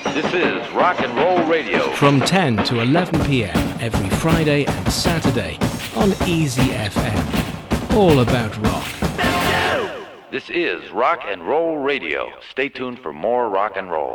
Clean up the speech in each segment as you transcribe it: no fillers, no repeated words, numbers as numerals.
This is Rock and Roll Radio. From 10 to 11 p.m. every Friday and Saturday on Easy FM. All about rock. This is Rock and Roll Radio. Stay tuned for more rock and roll.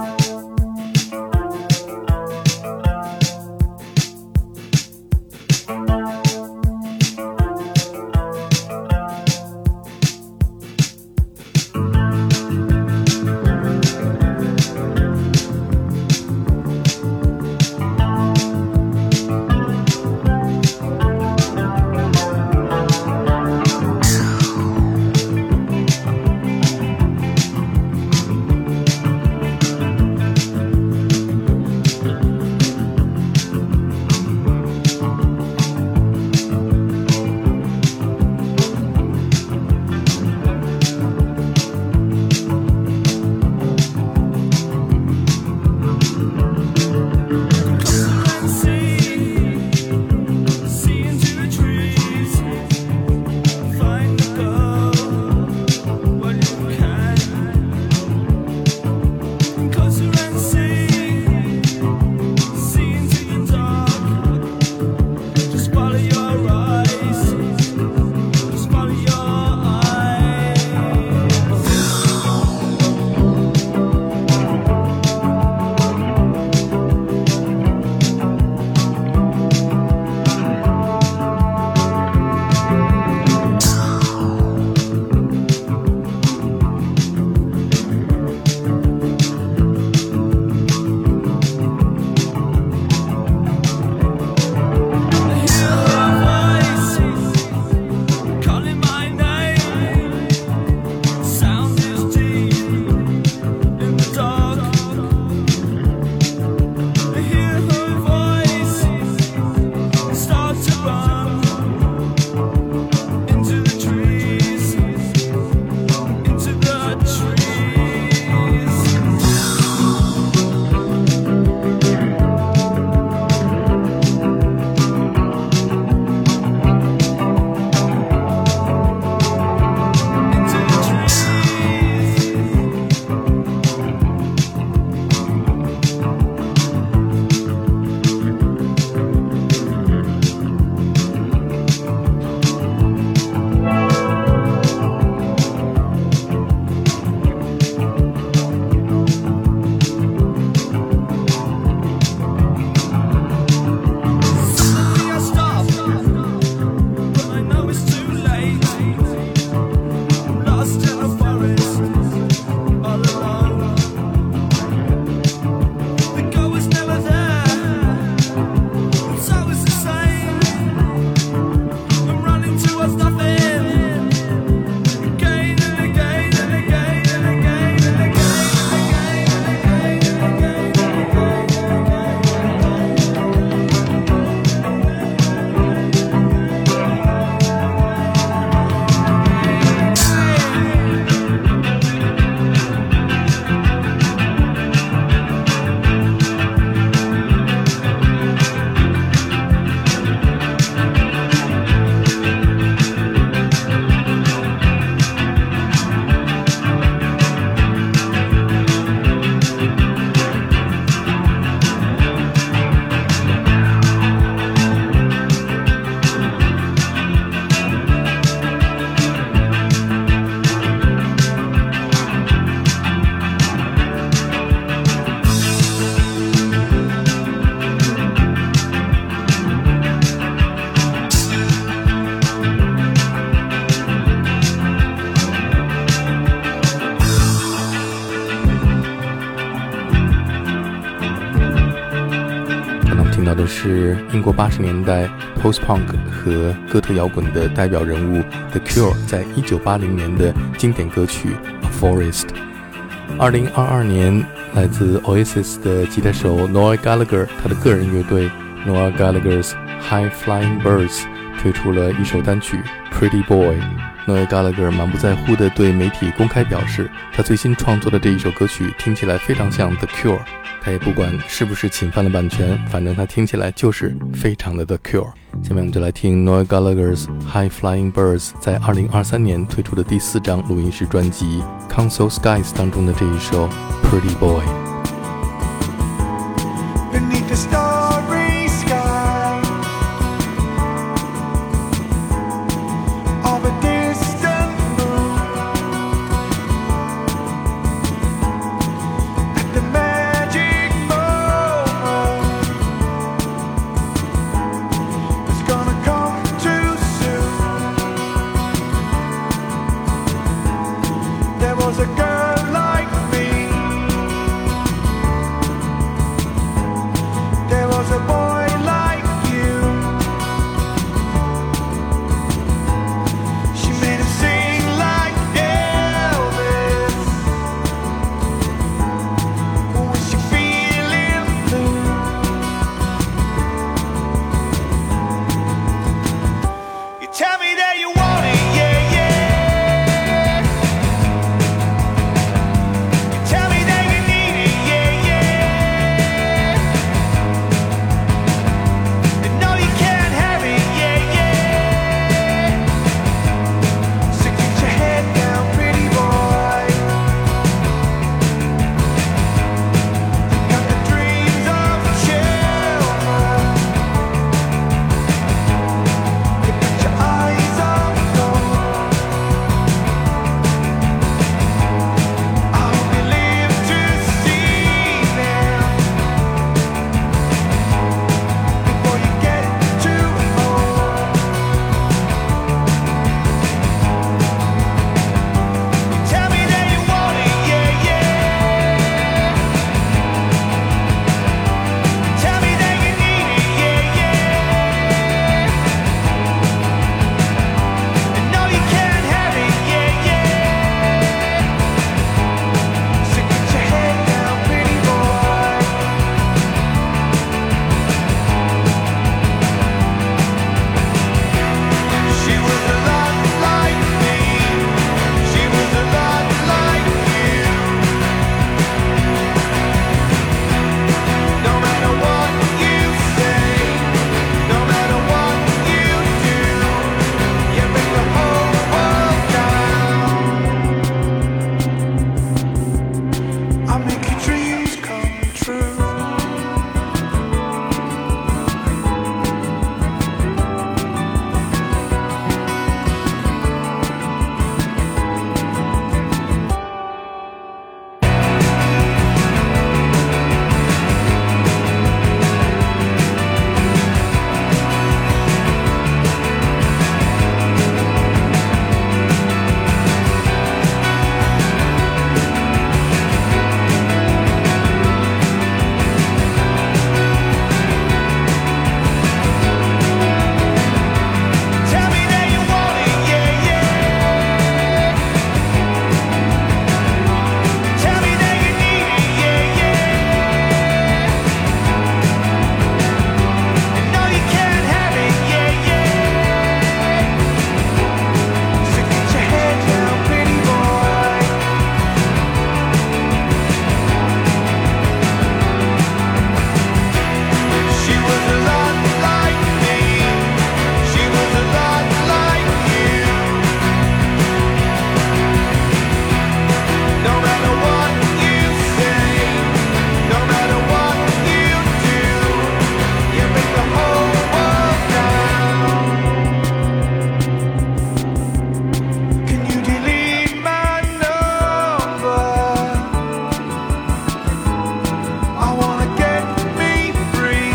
是英国80年代 post-punk 和哥特摇滚的代表人物 The Cure 在1980年的经典歌曲 A Forest。 2022年，来自 Oasis 的吉他手 Noel Gallagher 他的个人乐队 Noel Gallagher's High Flying Birds 推出了一首单曲 Pretty Boy。 Noel Gallagher 满不在乎地对媒体公开表示，他最新创作的这一首歌曲听起来非常像 The Cure，他也不管是不是侵犯了版权，反正他听起来就是非常的 The Cure。 下面我们就来听 Noel Gallagher's High Flying Birds 在2023年推出的第4张录音室专辑 Console Skies 当中的这一首 Pretty Boy。 the starry sky of a distant moon, at the magic moment it's gonna come too soon. There was a girl like me, there was a boy like you. She made him sing like Elvis. Was she feeling blue? You tell me that you want it, yeah, yeah. You tell me that you need it, yeah, yeah. And no, you can't have it, yeah, yeah. So get your head down, pretty boy. Got the dreams of children. You got your eyes on gold. I hope you live to see them before you get too old. Tell me that you want it, yeah, yeah. Tell me that you need it, yeah, yeah. And no, you can't have it, yeah, yeah. So get your head down, pretty boy. She was a lot like me. She was a lot like you. No matter what you say, no matter what you do, you bring the whole world down. I make your dreams come true. Tell me that you want it, yeah, yeah. Tell me that you need it, yeah, yeah. And no, you can't have it, yeah, yeah. So get your head down, pretty boy. She was a lot like me. She was a lot like you. No matter what you say, no matter what you do, you bring the whole world down. Can you delete my number? I wanna get me free.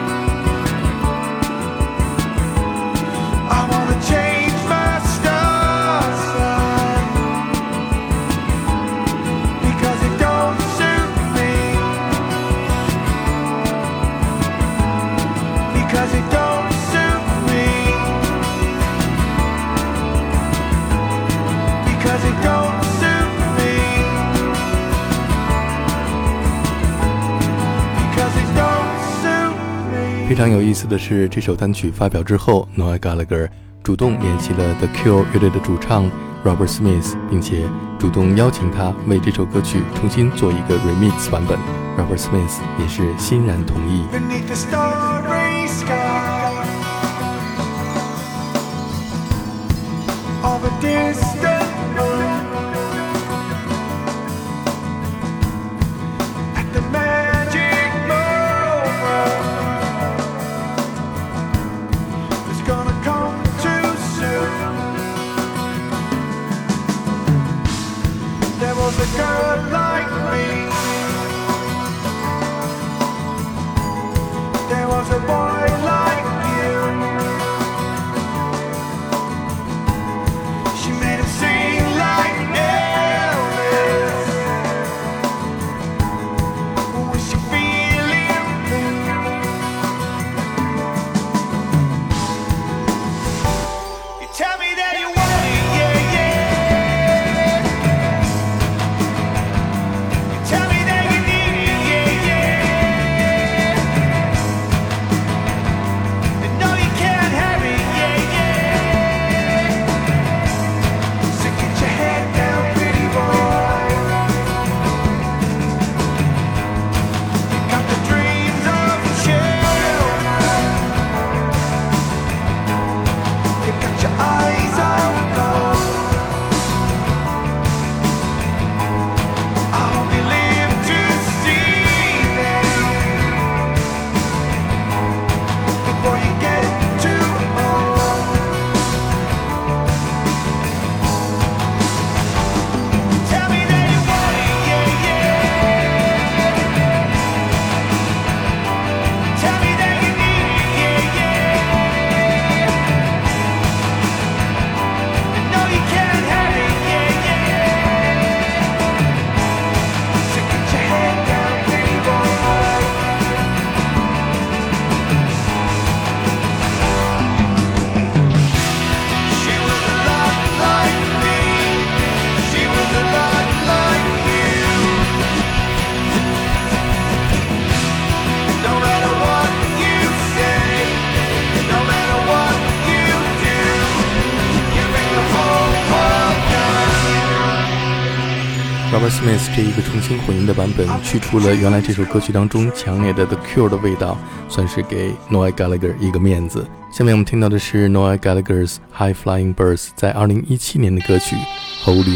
I wanna change my star sign because it don't suit me. Because it don't suit me. Because it don't suit me. Because it don't suit me. 非常有意思的是，这首单曲发表之后 Noel Gallagher 主动联系了 The Cure 乐队的主唱 Robert Smith， 并且主动邀请他为这首歌曲重新做一个 remix 版本。Robert Smith 也是欣然同意。 Beneath the starry sky of a distant moon, at the magic moment Smith 这一个重新混音的版本去除了原来这首歌曲当中强烈的 The Cure 的味道，算是给 Noel Gallagher 一个面子。下面我们听到的是 Noel Gallagher's High Flying Birds 在2017年的歌曲 Holy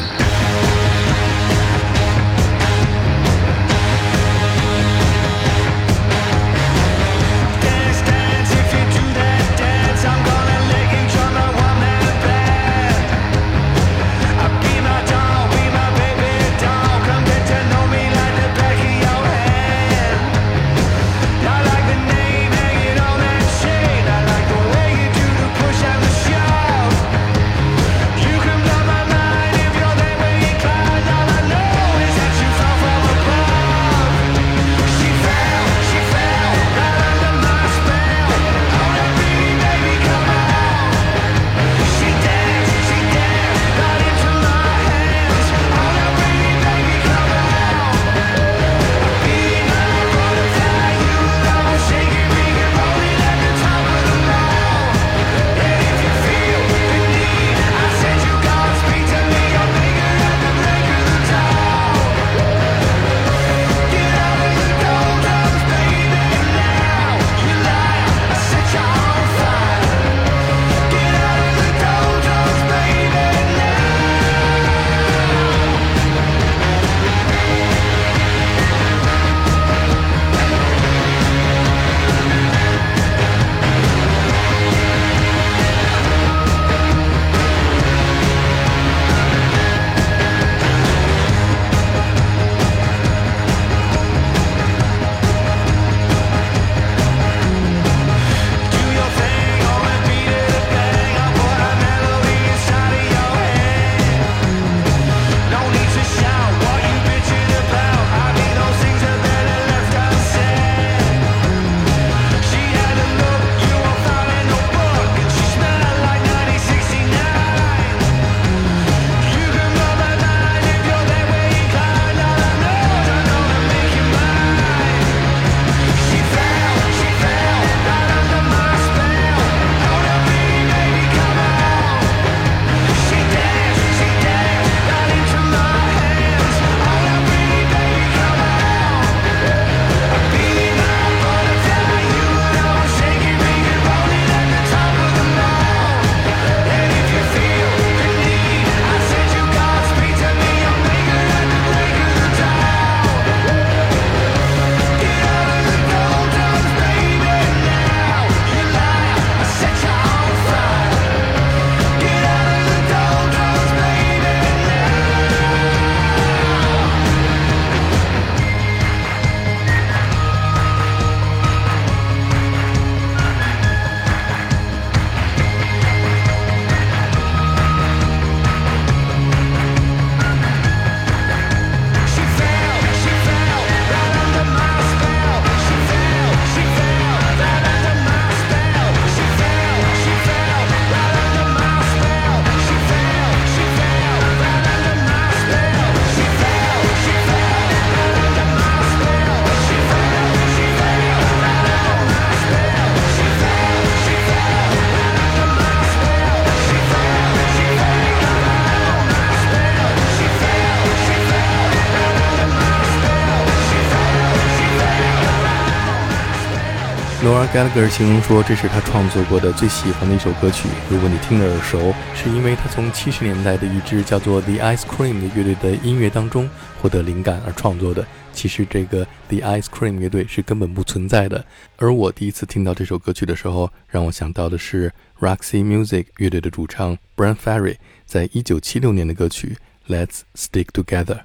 Mountain。Noel Gallagher 形容说，这是他创作过的最喜欢的一首歌曲。如果你听着耳熟，是因为他从70年代的一支叫做 The Ice Cream 的乐队的音乐当中获得灵感而创作的。其实这个 The Ice Cream 乐队是根本不存在的。而我第一次听到这首歌曲的时候，让我想到的是 Roxy Music 乐队的主唱 Bryan Ferry 在1976年的歌曲 Let's Stick Together。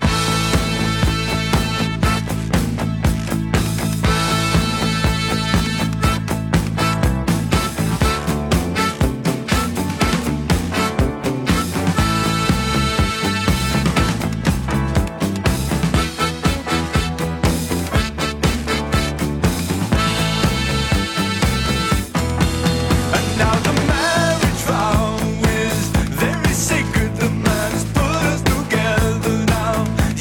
Sacred, the man has put us together now.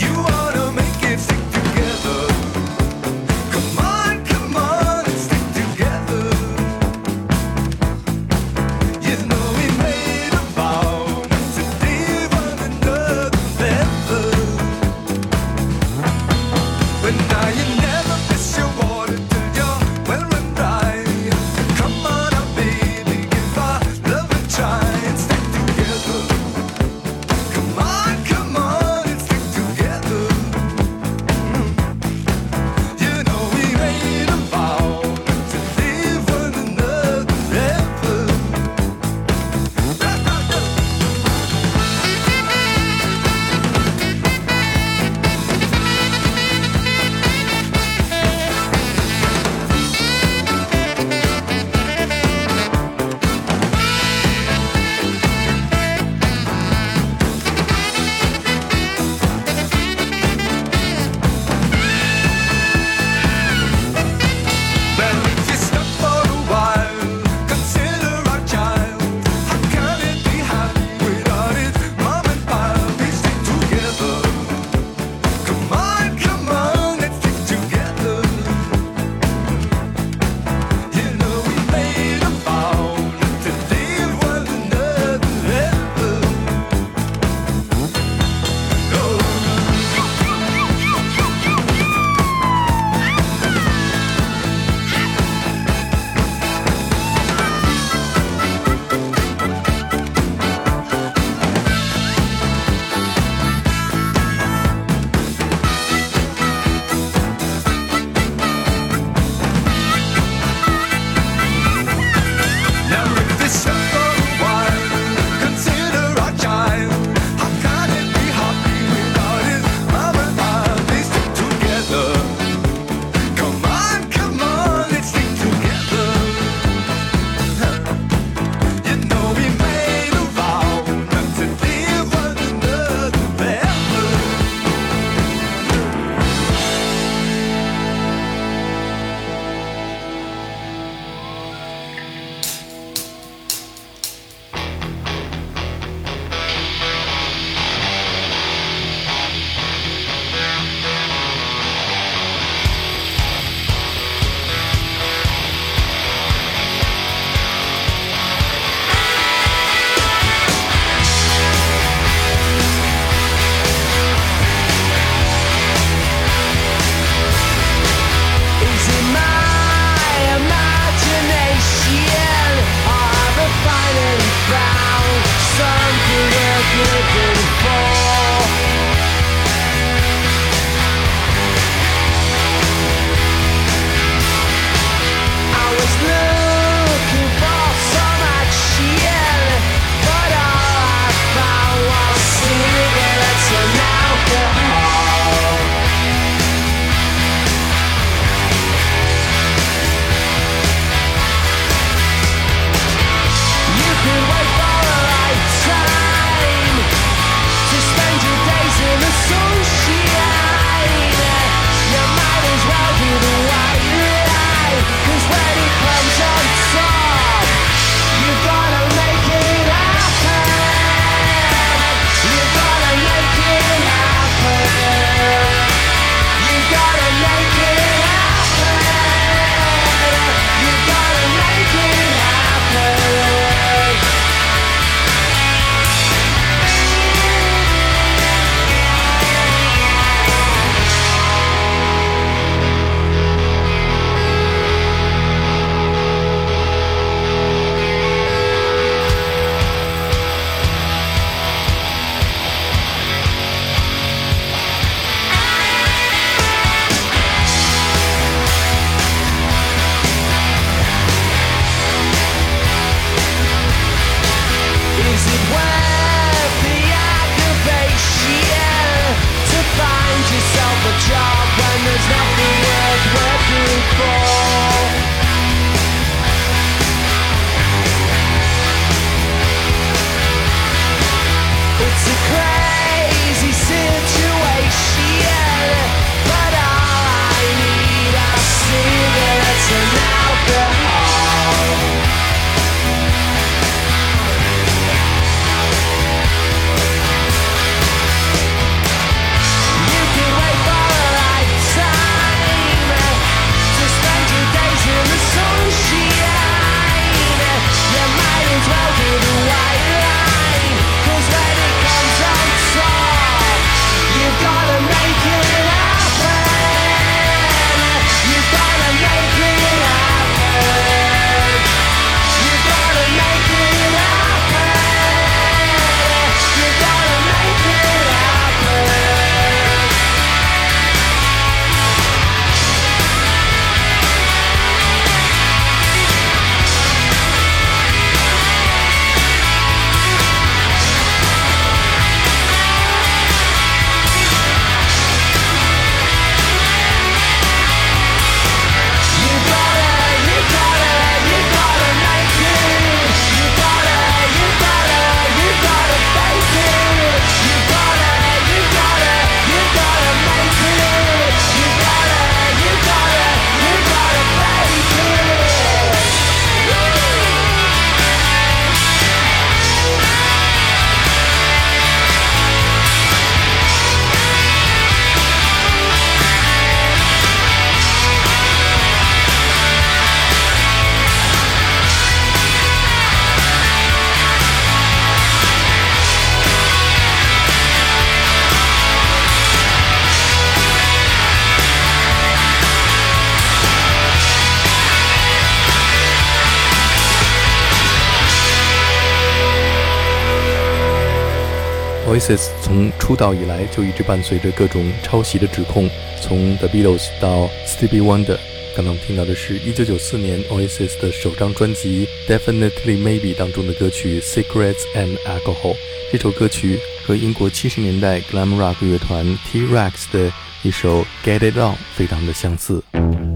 Oasis 从出道以来就一直伴随着各种抄袭的指控，从 The Beatles 到 Stevie Wonder。刚刚听到的是1994年 Oasis 的首张专辑 Definitely Maybe 当中的歌曲 Cigarettes and Alcohol。 这首歌曲和英国70年代 Glam Rock 乐团 T-Rex 的一首 Get It On 非常的相似。